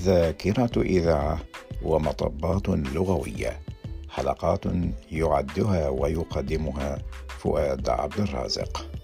ذاكرة إذاعة ومطبات لغوية، حلقات يعدها ويقدمها فؤاد عبد الرازق.